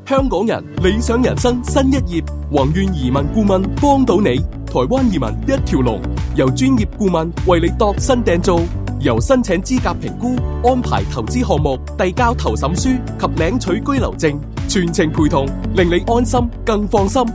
香港人理想人生新一頁，宏願移民顧問幫到你，台灣移民一條龍，由專業顧問為你度身訂造，由申請資格評估、安排投資項目、遞交投審書及領取居留證，全程陪同，令你安心更放心。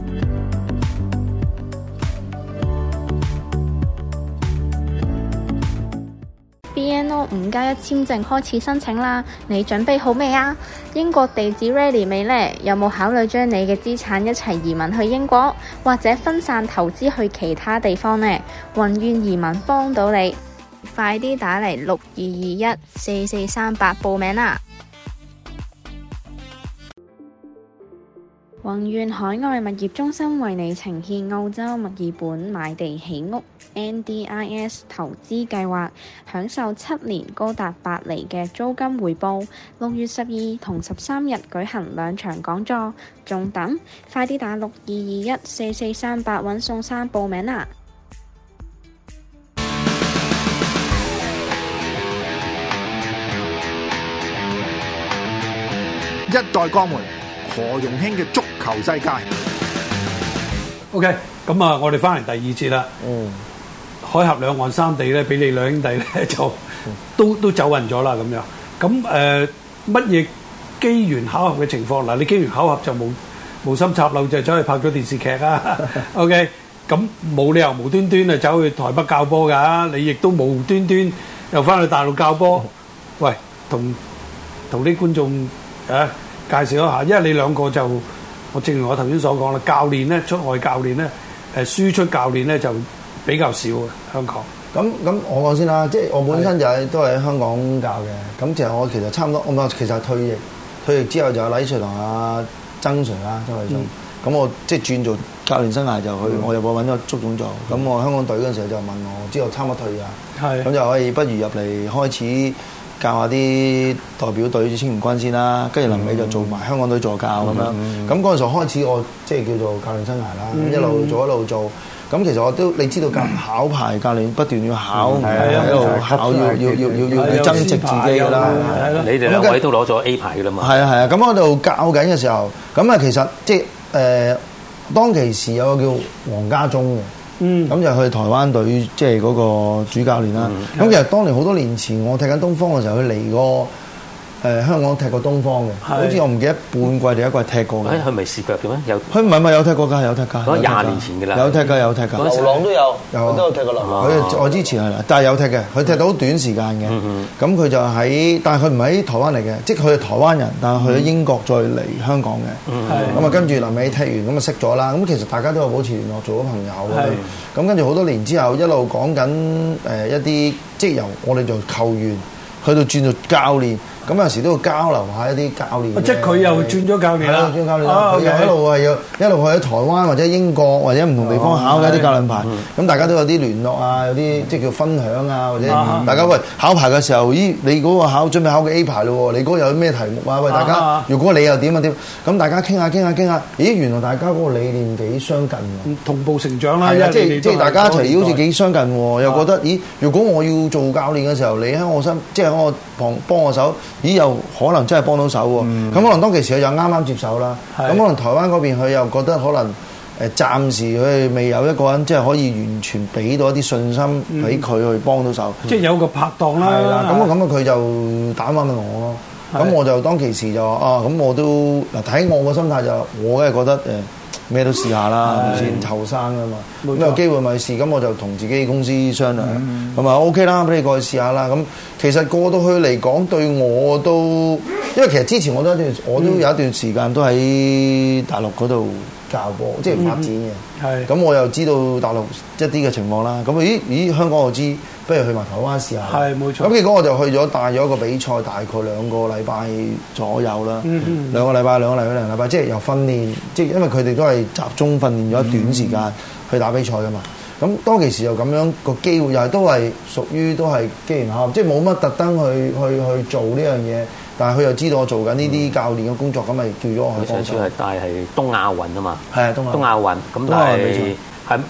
BNO 5+1簽證開始申請啦，你準備好未啊？英國地址 ready 未呢？有冇考慮將你嘅資產一齊移民去英國，或者分散投資去其他地方呢？宏願移民幫到你，快啲打嚟62214438報名啦！宏願海外物業中心為你呈現澳洲墨爾本買地起屋 NDIS 投資計劃，享受7年高達8厘嘅租金回報。6月12同13日舉行2場講座，仲等？快啲打62214438揾宋生報名啦！ 一代鋼門何容興嘅足球世界。 OK， 咁啊，我哋翻嚟第二節啦。海峽兩岸三地咧，俾你兩兄弟咧就都走運咗啦，咁樣。咁乜嘢機緣巧合嘅情況？嗱，你機緣巧合就無心插柳就走去拍咗電視劇啊。OK，咁冇理由無端端啊走去台北教波㗎，你亦都無端端又翻去大陸教波。喂，同啲觀眾介紹一下，因為你兩個就我正如我頭先所講啦，教練咧出外教練咧輸出教練咧就比較少啊，香港。 咁我講先啦，即係我本身就都係喺香港教嘅。咁其實我差唔多，其實退役之後就有黎 Sir 同阿曾 Sir 啦，曾偉聰。咁我即係轉做教練生涯就去，我入去揾咗足總做。咁我香港隊嗰陣時候就問我，知道差唔多退啊，咁就可以不如入嚟開始教下啲代表隊青年軍先啦，跟住臨尾就做埋香港隊助教咁樣。咁嗰陣時候開始我即係叫做教練生涯啦，一路做。咁其實我都你知道考牌教練不斷要考，喺度考要增值自己㗎啦。 你哋兩位都攞咗 A 牌㗎啦嘛。係啊，咁我度教緊嘅時候，咁啊其實即係當其時有個叫黃家忠嘅。咁就去台灣隊，即係嗰個主教練啦。咁其實當年好多年前，我踢緊東方嘅時候，佢嚟過香港踢過東方嘅，好似我唔記得半季定一季踢過嘅。 佢咪試腳嘅咩？ 佢唔係有踢過㗎，有踢㗎。 嗰20年前㗎啦。 有踢㗎。 流浪都有，我都有踢過流浪。 我之前係啦，但係有踢嘅，佢踢到好短時間嘅。咁佢就但係佢唔喺台灣嚟嘅，即係佢係台灣人，但係去咗英國再嚟香港嘅。咁啊跟住臨尾踢完咁啊識咗啦。咁其實大家都有保持聯絡，做咗朋友嘅。咁跟住好多年之後，一路講緊一啲，即係由我哋做球員去到轉做教練。咁有時都要交流下一啲教練。 即係佢又轉咗教練啦。 轉教練啦。佢又一路係一路去喺台灣或者英國或者唔同地方考嘅一啲教練牌。咁大家都有啲聯絡啊，有啲即係叫分享啊，或者大家喂考牌嘅時候，咦你嗰個準備考嘅 A 牌咯喎，你嗰個有咩題目啊？喂大家，如果你又點啊點？咁大家傾下，咦原來大家嗰個理念幾相近喎。 同步成長啦。 係啊，即係大家一齊好似幾相近喎，又覺得咦如果我要做教練嘅時候，你喺我身即係喺我旁幫我手。咦又可能真係幫到手喎，咁可能當其時佢又啱接手啦，咁可能台灣嗰邊佢又覺得可能暫時佢未有一個人即係可以完全俾到一啲信心俾佢去幫到手， 即係有個拍檔啦。 係啦，咁佢就打翻問我咯，咁我就當其時就話咁我都嗱睇我個心態就我梗係覺得咩都試下啦，係咪先後生啊嘛，咁有機會咪試，咁我就同自己公司商量，咁啊 OK 啦，俾你過去試下啦。咁其實過到去嚟講，對我都，因為其實之前我都有一段時間都喺大陸嗰度教波，即係發展嘅。咁我又知道大陸一啲嘅情況啦。咁咦香港我知，不如去埋台灣試下。係冇錯。咁結果我就去咗帶咗一個比賽，大概2個禮拜左右啦。2個禮拜，即係由訓練，即係因為佢哋都係集中訓練咗一段時間去打比賽噶嘛。咁當其時又咁樣個機會又係都係屬於都係機緣巧合，即係冇乜特登去做呢樣嘢，但係佢又知道我做緊呢啲教練嘅工作，咁咪叫咗我去幫手。 上次係帶係東亞運啊嘛， 係東亞運， 咁但係嗱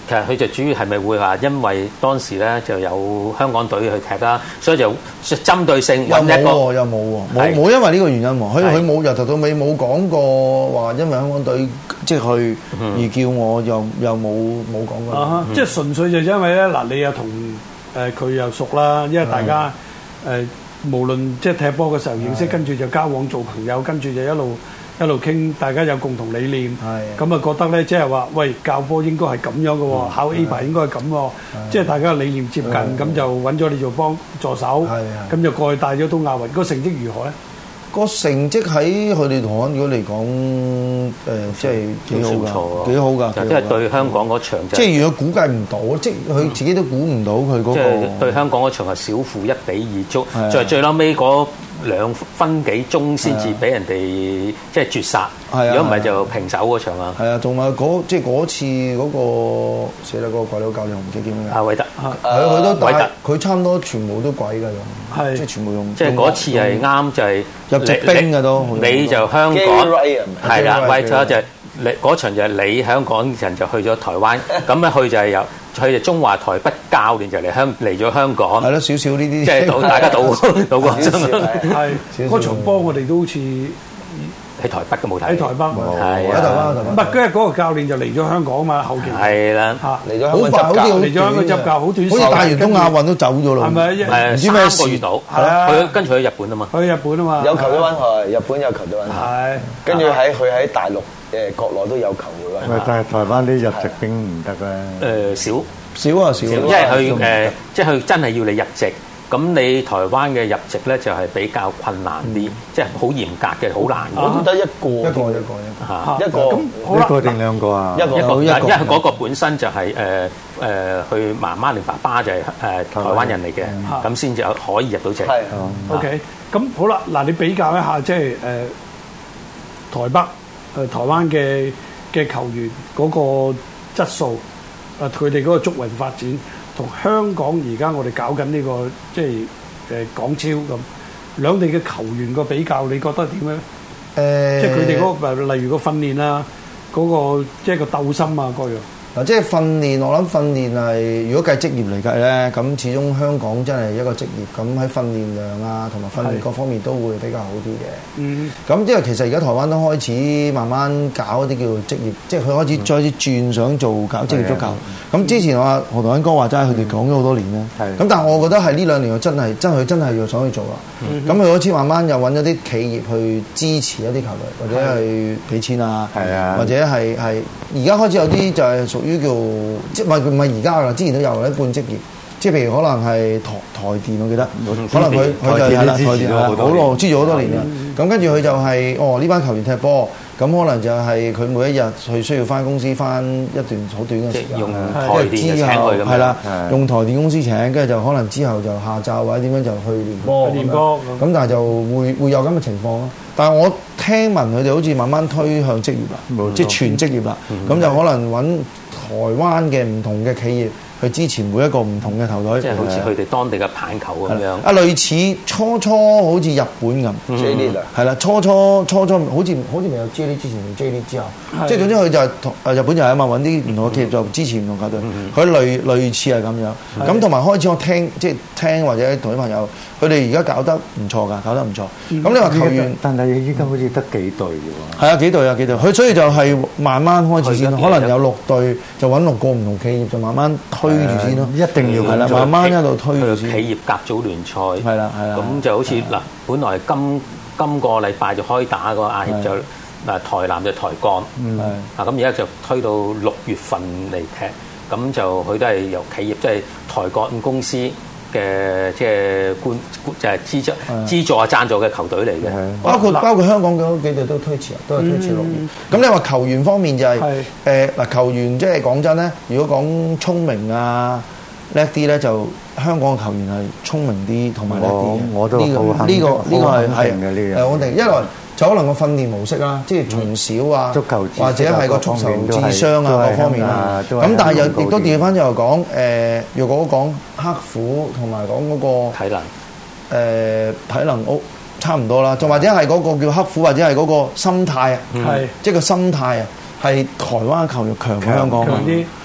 其實佢就主要係咪會話，因為當時咧就有香港隊去踢啦，所以就針對性揾一個又冇因為呢個原因喎，佢冇由頭到尾冇講過話，因為香港隊即係去而叫我又冇講過。 即係純粹就因為咧嗱，你又同佢又熟啦，因為大家無論即係踢波嘅時候認識，跟住就交往做朋友，跟住就一路傾，大家有共同理念，咁啊覺得咧，即係話，喂，教波應該係咁樣嘅喎，考 A 牌應該係咁喎，即係大家理念接近，咁就揾咗你做幫助手，咁就過去帶咗到亞運，個成績如何咧？ 個成績喺佢哋台灣如果嚟講，即係幾好㗎，幾好㗎。 即係對香港嗰場， 即係如果估計唔到，即係佢自己都估唔到佢嗰個。 即係對香港嗰場係小負1-2足，最撈尾嗰2分幾鐘先至俾人哋即係絕殺。如果唔係就平手嗰場啊。 係啊，同埋即係嗰次嗰個寫得嗰個鬼佬教練，唔記得叫咩？ 阿韋德， 佢都帶，佢差唔多全部都鬼㗎用，即係全部用。 即係嗰次係啱就係入籍兵㗎都。 你就香港係啦，韋德就你嗰場就係你香港人就去咗台灣，咁咧佢就係由佢哋中華台北教練就嚟咗香港。係咯，少少呢啲， 即係大家賭過係嗰場波，我哋都好似喺台北嘅冇睇。 喺台北係喺台灣。 唔係，跟住嗰個教練就嚟咗香港啊嘛，後期係啦嚟咗好快，好似嚟咗香港執教，好短時間， 好似帶完東亞運都走咗咯。 係咪？ 唔知咩事到？係啊，佢跟住去日本啊嘛。 去日本啊嘛。 有球隊揾佢，日本有球隊揾佢。 係。 跟住佢喺大陸國內都有球會揾。 但係台灣啲入籍兵唔得咧。 少， 因為佢即係佢真係要你入籍。咁你台灣嘅入籍咧就係比較困難啲，即係好嚴格嘅，好難嘅。 我得一個咁好啦， 一個定兩個啊？ 一個，因為嗰個本身就係佢媽媽定爸爸就係台灣人嚟嘅，咁先至可以入到籍。 OK，咁好啦，嗱你比較一下即係台北台灣嘅球員嗰個質素，佢哋嗰個足運發展。同香港而家我哋搞緊呢個即係港超咁，兩地嘅球員個比較，你覺得點樣？即係佢哋嗰個例如個訓練啊，嗰個即係個鬥心啊各樣。 嗱，即係訓練，我諗訓練係如果計職業嚟計咧，咁始終香港真係一個職業，咁喺訓練量啊同埋訓練各方面都會比較好啲嘅。咁因為其實而家台灣都開始慢慢搞一啲叫做職業，即係佢開始再轉想做搞職業足球。咁之前我何同恩哥話齋，佢哋講咗好多年咧。咁但係我覺得係呢2年真係要想去做啦。咁佢開始慢慢又揾咗啲企業去支持一啲球隊，或者係俾錢啊，或者係而家開始有啲就係屬於叫即係唔係而家啦，之前都有一半職業，即係譬如可能係台電，我記得，可能佢就係啦，台電好耐支咗好多年啦。咁跟住佢就係呢班球員踢波，咁可能就係佢每一日佢需要翻公司翻一段好短嘅時間， 用台電請佢咁樣， 係啦，用台電公司請，跟住就可能之後就下晝或者點樣就去練波，咁但係就會有咁嘅情況咯。但係我聽聞佢哋好似慢慢推向職業啦，即係全職業啦，咁就可能揾台灣嘅唔同嘅企業去支持每一個唔同嘅球隊， 即係好似佢哋當地嘅棒球咁樣。 啊，類似初好似日本咁 J League 係啦，初好似未有 J League 之前同 J League 之後，即係總之佢就係日本就係啊嘛，揾啲唔同嘅企業就支持唔同球隊，佢類似係咁樣。咁同埋開始我聽或者同啲朋友，佢哋而家搞得唔錯㗎，搞得唔錯。咁你話球員， 但係依家好似得幾隊嘅喎。 係啊，幾隊。佢所以就係慢慢開始先，可能有6隊就揾6個唔同企業就慢慢推住先咯。 一定要係啦，慢慢一路推住先。 企業甲組聯賽係啦。 咁就好似嗱，本來今個禮拜就開打個亞協就台南就台鋼，咁而家就推到6月份嚟踢，咁就佢都係由企業即係台鋼公司嘅即係就係資助啊贊助嘅球隊嚟嘅， 包括香港嗰幾隊都推遲6月。咁你話球員方面就係嗱球員即係講真咧，如果講聰明啊叻啲咧，就香港嘅球員係聰明啲同埋叻啲嘅。 我都好呢個係嘅呢樣。 我哋一來就可能個訓練模式啦，即係從小啊， 足球或者係個足球智商啊各方面啦。咁但係又亦都調翻就講若果講刻苦同埋講嗰個體能差唔多啦，仲或者係嗰個叫刻苦，或者係嗰個心態啊，即係個心態啊，係台灣球員強過香港啲。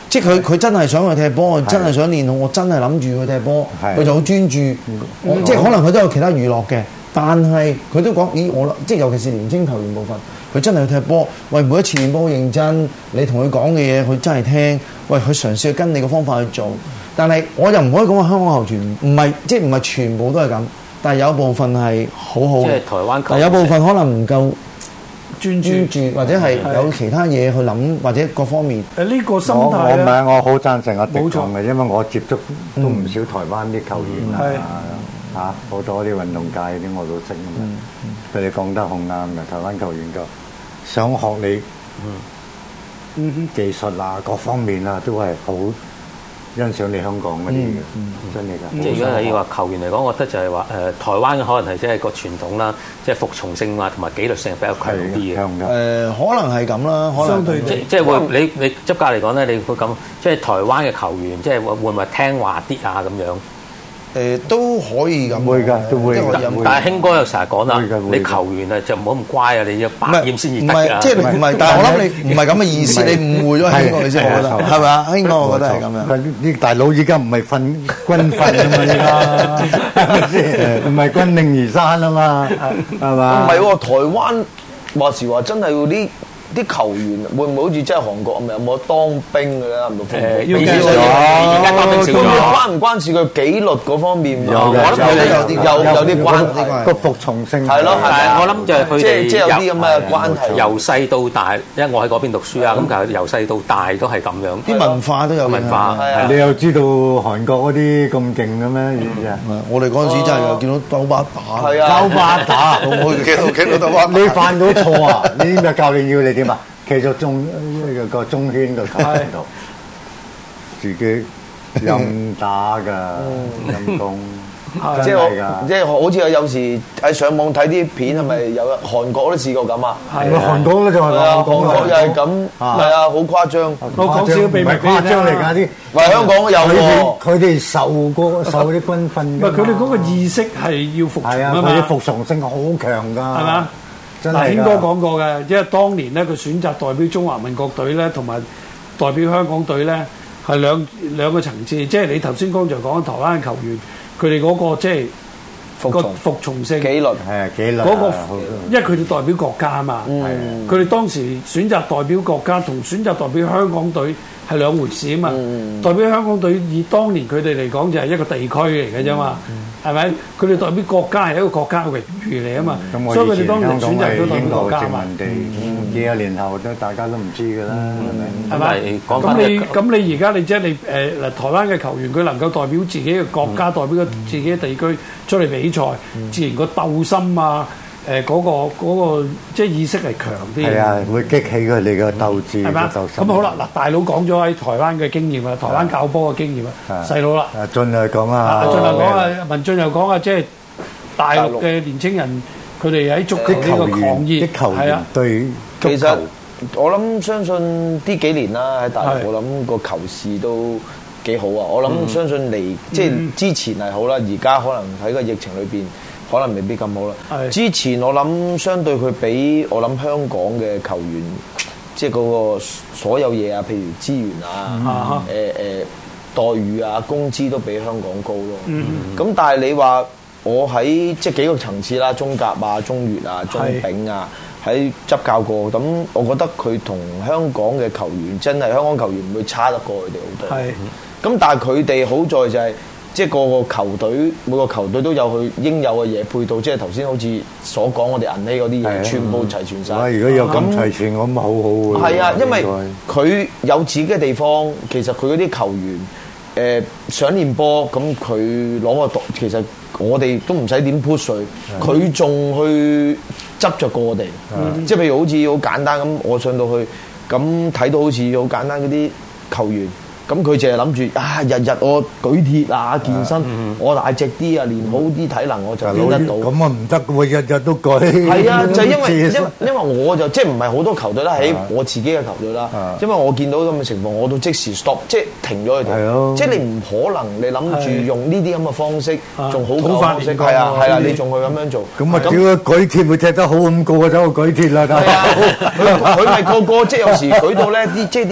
即係佢真係想去踢波，真係想練好，我真係諗住去踢波，佢就好專注。即係可能佢都有其他娛樂嘅，但係佢都講：咦，我即係尤其是年青球員部分，佢真係去踢波。喂，每一次練波好認真，你同佢講嘅嘢，佢真係聽。喂，佢嘗試去跟你嘅方法去做。但係我又唔可以講話香港球員唔係全部都係咁，但係有部分係好好嘅。 即係台灣球員， 但有部分可能唔夠專注，或者係係有其他嘢去諗，或者各方面。 呢個心態咧， 我好贊成阿迪講嘅， 冇錯因為我接觸都唔少台灣啲球員啊，好多啲運動界啲我都識咁樣。佢哋講得好啱嘅，台灣球員就想學你技術啊，各方面啊，都係好欣賞你香港嗰啲嘅，真係㗎。 即係如果你話球員嚟講，我覺得就係話台灣可能係即係個傳統啦，即係服從性啊同埋紀律性比較強啲嘅。 可能係咁啦，可能相對即係會你執教嚟講咧，你會咁即係台灣嘅球員，即係會唔會聽話啲啊咁樣？ 都可以咁， 會㗎，都會。 但係興哥又成日講啦，你球員啊就唔好咁乖啊，你要百厭先至得㗎。 即係唔係？但係我諗你唔係咁嘅意思，你誤會咗興哥你先，我覺得係咪啊？興哥，我覺得係咁樣。 啲大佬依家唔係軍訓啊嘛，依家係咪先？唔係軍令而山啊嘛，係嘛？ 唔係喎，台灣話時話真係嗰啲球員會唔會好似真係韓國咁有冇當兵嘅咧？係咪？ 要計而家當兵少咗。 關唔關事佢紀律嗰方面？ 我諗佢有啲關係。 個服從性係咯， 但係我諗就係佢哋即係有啲咁嘅關係。 由細到大，因為我喺嗰邊讀書啊，咁其實由細到大都係咁樣。 啲文化都有文化。 你又知道韓國嗰啲咁勁嘅咩？ 我哋嗰陣時真係見到兜巴打， 兜巴打， 我見到兜巴打。 你犯到錯啊！你知唔知教練要你點啊？企咗個中圈個球度，自己任打㗎，陰功， 即係好似有時喺上網睇啲片，係咪有韓國都試過咁啊？ 係韓國咧就係韓國又係咁，係啊，好誇張。 我講少秘密俾你誇張嚟㗎啲， 喂，香港都有喎。 佢哋受啲軍訓， 唔係佢哋嗰個意識係要服從啊嘛， 佢哋服從性好強㗎，係嘛？嗱，興哥講過嘅，因為當年咧佢選擇代表中華民國隊咧，同埋代表香港隊咧係兩個層次。即係你頭先剛才講台灣嘅球員，佢哋嗰個即係服從性紀律係紀律嗰個，因為佢哋代表國家啊嘛。佢哋當時選擇代表國家同選擇代表香港隊係兩回事啊嘛。代表香港隊以當年佢哋嚟講就係一個地區嚟嘅啫嘛。係咪？佢哋代表國家係一個國家嘅榮譽嚟啊嘛，所以佢哋當年選擇都代表國家嘛。 幾廿年後都大家都唔知㗎啦，係咪？ 係咪？ 咁你而家你即係你台灣嘅球員，佢能夠代表自己嘅國家，代表自己嘅地區出嚟比賽，自然個鬥心啊，嗰個即係意識係強啲。 係啊，會激起佢哋嘅鬥志。係嘛？ 咁好啦，嗱，大佬講咗喺台灣嘅經驗啦，台灣教波嘅經驗啦，細佬啦。 阿俊又講啊， 俊又講啊，文俊又講啊，即係大陸嘅年青人，佢哋喺足球呢個狂熱， 啲球員對足球。 其實我諗相信呢幾年啦，喺大陸我諗個球市都幾好啊。我諗相信嚟即係之前係好啦，而家可能喺個疫情裏邊。可能未必咁好啦。之前我諗相對佢比我諗香港嘅球員，即係嗰個所有嘢啊，譬如資源啊、待遇啊、工資都比香港高咯。咁但係你話我喺即係幾個層次啦，中甲啊、中乙啊、中丙啊，喺執教過，咁我覺得佢同香港嘅球員真係香港球員唔會差得過佢哋好多。咁但係佢哋好在就係。即係個個球隊，每個球隊都有佢應有嘅嘢配套，即係頭先好似所講，我哋銀禧嗰啲嘢全部齊全晒。 如果有咁齊全，咁好好喎。 係啊，因為佢有自己嘅地方，其實佢嗰啲球員想練波，咁佢攞個其實我哋都唔使點 push 佢，佢仲去執着過我哋。即係譬如好似好簡單咁，我上到去咁睇到好似好簡單嗰啲球員。咁佢淨係諗住啊，日日我舉鐵啊，健身，我大隻啲啊，練好啲體能，我就練得到。 咁啊唔得喎，日日都舉。 係啊，就因為我就即係唔係好多球隊啦，喺我自己嘅球隊啦，因為我見到咁嘅情況，我都即時 stop， 即係停咗佢哋。即係你唔可能，你諗住用呢啲咁嘅方式，仲好嘅方式，係啊，你仲去咁樣做。咁啊， 叫佢舉鐵會踢得好咁，個個走去舉鐵啦。 係啊，佢咪個即係有時舉到咧啲即係啲。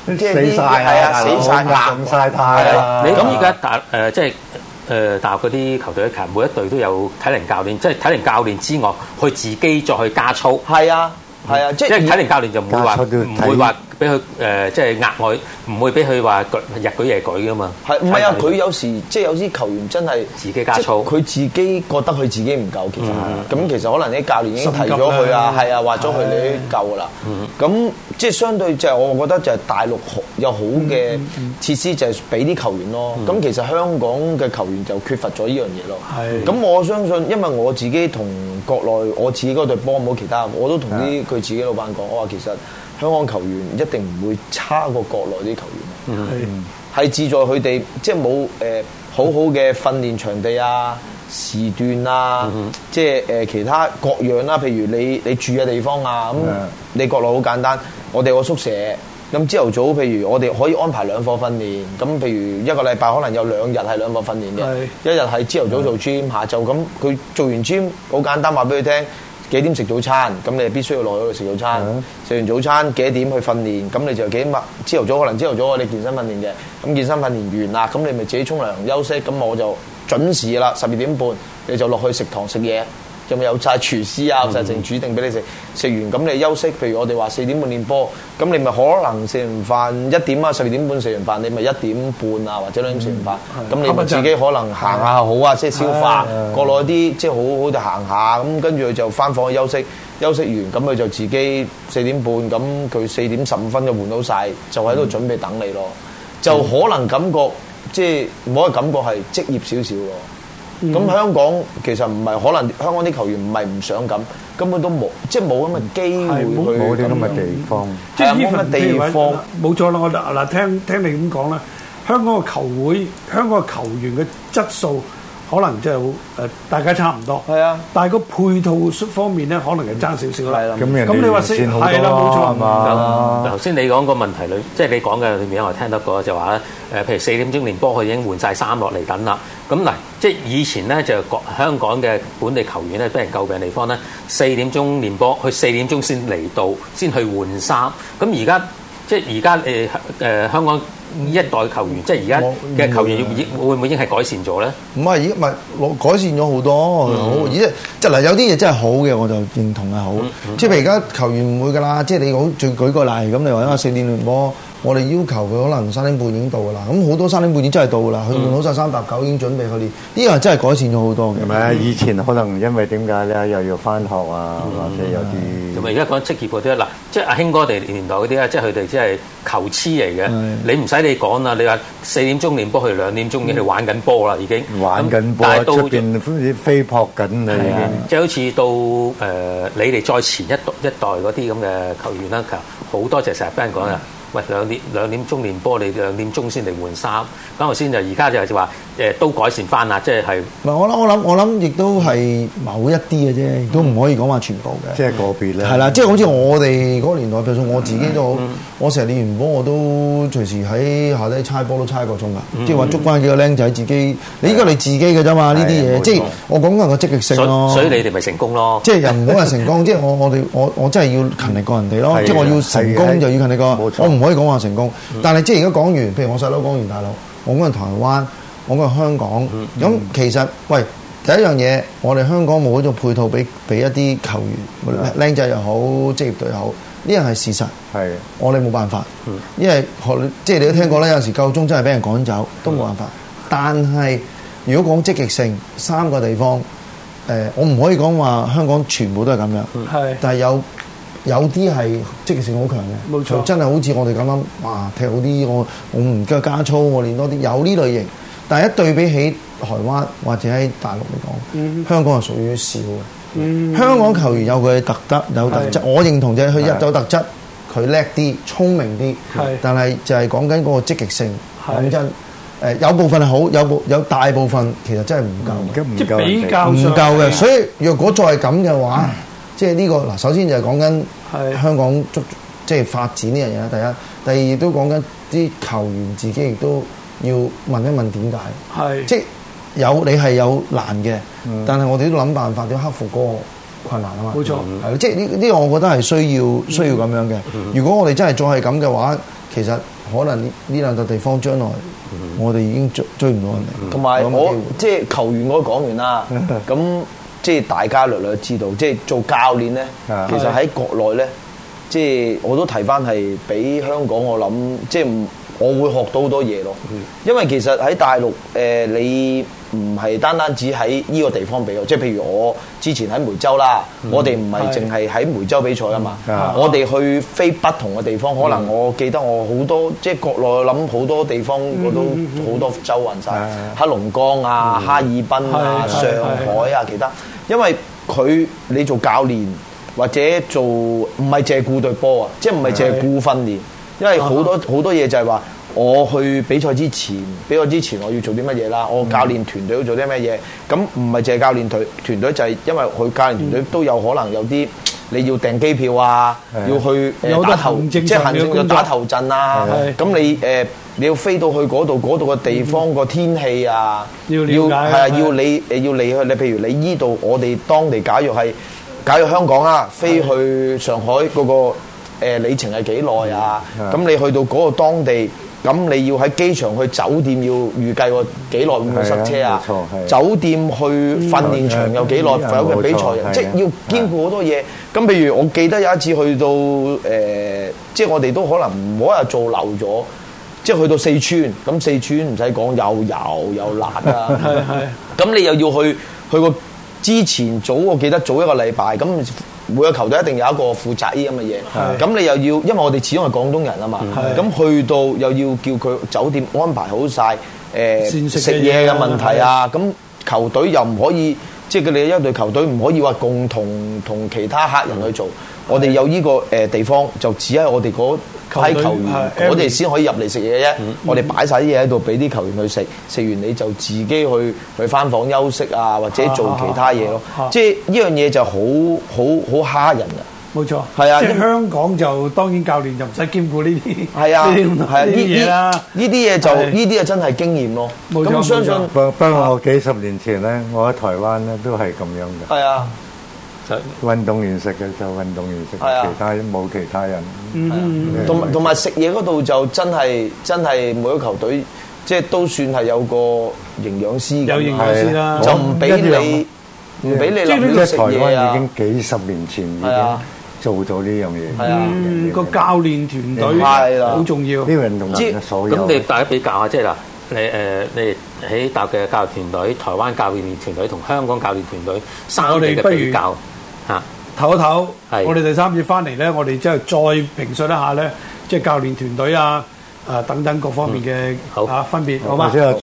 即係死晒係啊，死晒硬晒太啦。 你咁而家即係大陸嗰啲球隊，其實每一隊都有體能教練，即係體能教練之外，佢自己再去加操。 係啊，即係體能教練就唔會話俾佢即係額外，唔會俾佢話日舉夜舉噶嘛。 係唔係啊？佢有時即係有啲球員真係自己加操， 佢自己覺得佢自己唔夠，其實咁其實可能啲教練已經提咗佢啊，係啊，話咗佢你夠噶啦。咁即係相對就係我覺得就係大陸有好嘅設施，就係俾啲球員咯。咁其實香港嘅球員就缺乏咗呢樣嘢咯。咁我相信，因為我自己同國內我自己嗰隊波冇其他，我都同佢自己老闆講，我話其實香港球員一定唔會差過國內啲球員，係志在佢哋即係冇好好嘅訓練場地啊、時段啊，即係其他各樣啦。譬如你住嘅地方啊，咁你國內好簡單，我哋有個宿舍，咁朝頭早譬如我哋可以安排2課訓練，咁譬如一個禮拜可能有2日係2課訓練嘅，一日係朝頭早做 gym，下晝咁佢做完 gym 好簡單，話俾佢聽。幾點食早餐？咁你必須要落去嗰度食早餐。食完早餐幾點去訓練？咁你就幾點朝頭早可能朝頭早我哋健身訓練嘅。咁健身訓練完啦，咁你咪自己沖涼休息。咁我就準時啦，12點半你就落去食堂食嘢。有晒廚師啊，有晒剩煮定俾你食。食完咁你休息。譬如我哋話4點半練波，咁你咪可能食完飯1點啊，12點半食完飯，你咪1點半啊或者2點食完飯。咁你咪自己可能行下好啊，即係消化。國內啲即係好好就行下，咁跟住佢就翻房去休息。休息完咁佢就自己4點半，咁佢4點15分就換到晒，就喺度準備等你咯。就可能感覺即係冇個感覺係職業少少咯。咁香港其實唔係，可能香港啲球員唔係唔想咁，根本都冇，即係冇咁嘅機會去冇啲咁嘅地方， 即係冇乜地方。 冇錯啦，我嗱聽你咁講啦，香港嘅球會、香港嘅球員嘅質素可能即係好大家差唔多。係啊，但係個配套方面咧，可能係爭少少啦。係啦，咁你話先係啦，冇錯係嘛？ 頭先你講個問題裏，即係你講嘅裏面，我聽得過就話咧，譬如4點鐘練波，佢已經換晒衫落嚟等啦。咁嗱，即係以前咧就香港嘅本地球員咧，俾人詬病嘅地方咧，4點鐘練波，佢4點鐘先嚟到，先去換衫。咁而家即係而家香港呢一代球員，即係而家嘅球員會唔會已經係改善咗咧？ 唔係，唔係改善咗好多，好而即係嗱，有啲嘢真係好嘅，我就認同係好。即係譬如而家球員唔會㗎啦，即係你好，舉個例咁，你話因為4點練波。我哋要求佢可能3點半已經到㗎啦，咁好多3點半已經真係到㗎啦，佢換好晒389已經準備去練，呢個真係改善咗好多嘅。 係咪啊？以前可能因為點解咧，又要翻學啊，或者有啲。 同埋而家講職業嗰啲嗱，即係阿興哥哋年代嗰啲咧，即係佢哋即係球痴嚟嘅。你唔使你講啦，你話4點鐘練波，佢2點鐘已經去玩緊波啦，已經玩緊波，喺出邊飛撲緊啦，已經。 即係好似到你哋再前一代嗰啲咁嘅球員啦，其實好多就成日俾人講啊。喂，2點鐘練波，你2點鐘先嚟換衫。咁頭先就而家就話都改善翻啦，即係。 唔係我諗，亦都係某一啲嘅啫，亦都唔可以講話全部嘅。 即係個別咧。係啦，即係好似我哋嗰個年代，譬如我自己都好，我成日練完波我都隨時喺下低猜波都猜1個鐘㗎。即係話捉翻幾個僆仔自己，你依個你自己嘅啫嘛，呢啲嘢。即係我講緊個積極性咯。 所以你哋咪成功咯。 即係又唔好話成功，即係我真係要勤力過人哋咯。即係我要成功就要勤力過。我唔可以講話成功，但係即係而家講完，譬如我細佬講完大陸，我講係台灣，我講係香港，咁其實喂第一樣嘢，我哋香港冇嗰種配套俾一啲球員，僆仔又好，職業隊又好，呢樣係事實。係，我哋冇辦法，因為即係你都聽過啦，有陣時夠鐘真係俾人趕走，都冇辦法。但係如果講積極性，3個地方，我唔可以講話香港全部都係咁樣，但係有啲係積極性好強嘅，冇錯，真係好似我哋咁樣，哇踢好啲，我唔夠加操，我練多啲，有呢類型。但係一對比起台灣或者喺大陸嚟講，香港係屬於少嘅。香港球員有佢嘅特質，有特質，我認同就係佢有特質，佢叻啲，聰明啲，但係就係講緊嗰個積極性。講真，有部分係好，有大部分其實真係唔夠， 即係比較唔夠嘅。所以若果再係咁嘅話，即係呢個嗱，首先就係講緊香港即係發展呢樣嘢啦。第二亦都講緊啲球員自己亦都要問一問點解。即係你係有難嘅，但係我哋都諗辦法點克服嗰個困難啊嘛。冇錯，係即係呢個我覺得係需要咁樣嘅。如果我哋真係再係咁嘅話，其實可能呢兩個地方將來我哋已經追唔到人哋。 同埋我即係球員我都講完啦，咁即係大家略略知道，即係做教練咧，其實喺國內咧，即係我都提翻係比香港我諗即係我會學到好多嘢咯。因為其實喺大陸你唔係單止喺呢個地方比較，即係譬如我之前喺梅州啦，我哋唔係淨係喺梅州比賽啊嘛，我哋去飛不同嘅地方，可能我記得我好多即係國內諗好多地方我都好多周運晒，黑龍江啊、哈爾濱啊、上海啊其他，因為你做教練或者做唔係淨係顧隊波啊，即係唔係淨係顧訓練，因為好多嘢就係話。我去比賽之前我要做啲乜嘢啦？我教練團隊要做啲乜嘢？咁唔係淨係教練團隊，就係因為佢教練團隊都有可能有啲你要訂機票啊，要去打頭，即係行政要打頭陣啊。咁你要飛到去嗰度嘅地方個天氣啊，要係啊，要你去你譬如你依度我哋當地假如香港啊，飛去上海嗰個里程係幾耐啊？咁你去到嗰個當地。咁你要喺機場去酒店要預計個幾耐會唔會塞車啊？酒店去訓練場有幾耐？有嘅比賽人，即係要兼顧好多嘢。咁譬如我記得有一次去到即係我哋都可能唔好話做漏咗，即係去到四川。咁四川唔使講，又油又辣啊！咁你又要去個之前我記得早一個禮拜咁。每個球隊一定有一個負責呢咁嘅嘢，咁你又要，因為我哋始終係廣東人啊嘛，咁去到又要叫佢酒店安排好晒食嘢嘅問題啊，咁球隊又唔可以，即係佢哋一隊球隊唔可以話共同同其他客人去做，我哋有呢個地方就只係我哋嗰批球員，我哋先可以入嚟食嘢啫。我哋擺晒啲嘢喺度俾啲球員去食，食完你就自己去翻房休息啊，或者做其他嘢咯。即係呢樣嘢就好蝦人啊！冇錯，係啊！即係香港就當然教練就唔使兼顧呢啲，係啊，呢啲嘢啦。呢啲嘢就呢啲啊真係經驗咯。咁相信不過我幾十年前咧，我喺台灣咧都係咁樣嘅。係啊。運動員食嘅就運動員食，其他冇其他人。同埋食嘢嗰度就真係每個球隊即係都算係有個營養師嘅，有營養師啦，就唔俾你立亂食嘢啊！已經幾十年前已經做咗呢樣嘢。係啊，個教練團隊係好重要。啲運動員所有咁你大家比較下，即係嗱，你喺大陸嘅教練團隊、台灣教練團隊同香港教練團隊三地嘅比較。唞一唞，我哋第三節翻嚟咧，我哋即係再評述一下咧，即係教練團隊啊、等等各方面嘅分別，好嗎？